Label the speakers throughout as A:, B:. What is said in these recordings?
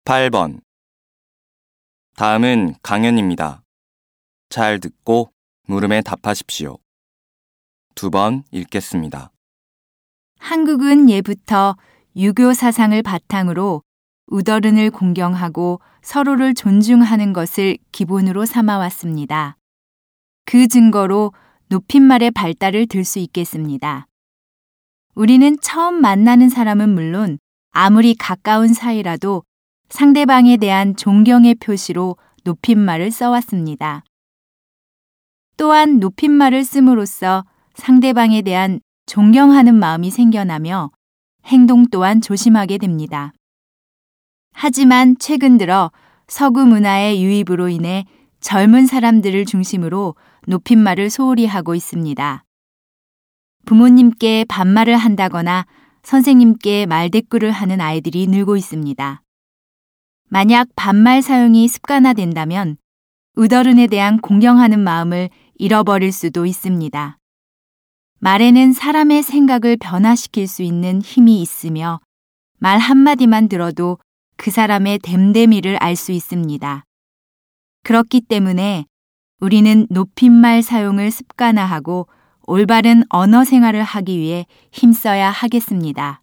A: 8번. 다음은 강연입니다. 잘 듣고 물음에 답하십시오. 2번 읽겠습니다.
B: 한국은 예부터 유교 사상을 바탕으로 우더른을 공경하고 서로를 존중하는 것을 기본으로 삼아왔습니다. 그 증거로 높임말의 발달을 들 수 있겠습니다. 우리는 처음 만나는 사람은 물론 아무리 가까운 사이라도 상대방에 대한 존경의 표시로 높임말을 써왔습니다. 또한 높임말을 씀으로써 상대방에 대한 존경하는 마음이 생겨나며 행동 또한 조심하게 됩니다. 하지만 최근 들어 서구 문화의 유입으로 인해 젊은 사람들을 중심으로 높임말을 소홀히 하고 있습니다. 부모님께 반말을 한다거나 선생님께 말대꾸를 하는 아이들이 늘고 있습니다. 만약 반말 사용이 습관화된다면 우더른에 대한 공경하는 마음을 잃어버릴 수도 있습니다. 말에는 사람의 생각을 변화시킬 수 있는 힘이 있으며 말 한마디만 들어도 그 사람의 됨됨이를 알 수 있습니다. 그렇기 때문에 우리는 높임말 사용을 습관화하고 올바른 언어 생활을 하기 위해 힘써야 하겠습니다.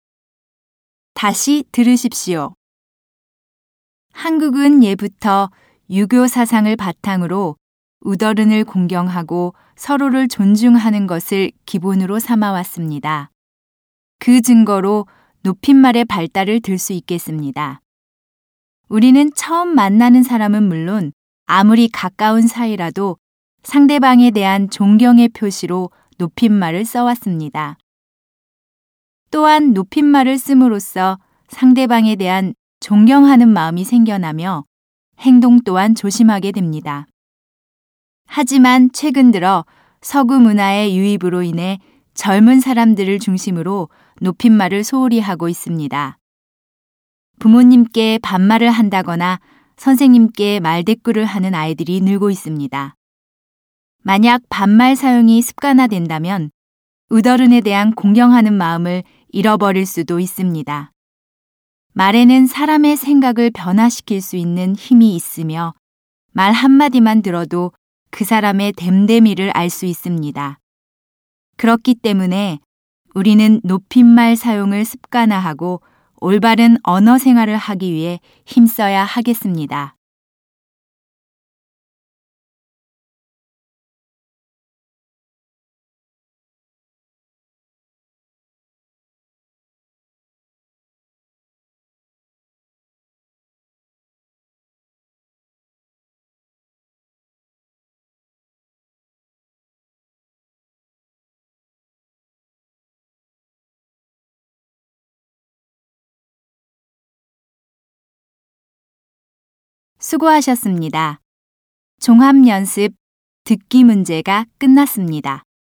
B: 다시 들으십시오. 한국은 예부터 유교 사상을 바탕으로 우더른을 공경하고 서로를 존중하는 것을 기본으로 삼아왔습니다. 그 증거로 높임말의 발달을 들 수 있겠습니다. 우리는 처음 만나는 사람은 물론 아무리 가까운 사이라도 상대방에 대한 존경의 표시로 높임말을 써왔습니다. 또한 높임말을 씀으로써 상대방에 대한 존경하는 마음이 생겨나며 행동 또한 조심하게 됩니다. 하지만 최근 들어 서구 문화의 유입으로 인해 젊은 사람들을 중심으로 높임말을 소홀히 하고 있습니다. 부모님께 반말을 한다거나 선생님께 말대꾸를 하는 아이들이 늘고 있습니다. 만약 반말 사용이 습관화된다면 우더른에 대한 공경하는 마음을 잃어버릴 수도 있습니다. 말에는 사람의 생각을 변화시킬 수 있는 힘이 있으며 말 한마디만 들어도 그 사람의 됨됨이를 알 수 있습니다. 그렇기 때문에 우리는 높임말 사용을 습관화하고 올바른 언어 생활을 하기 위해 힘써야 하겠습니다. 수고하셨습니다. 종합연습 듣기 문제가 끝났습니다.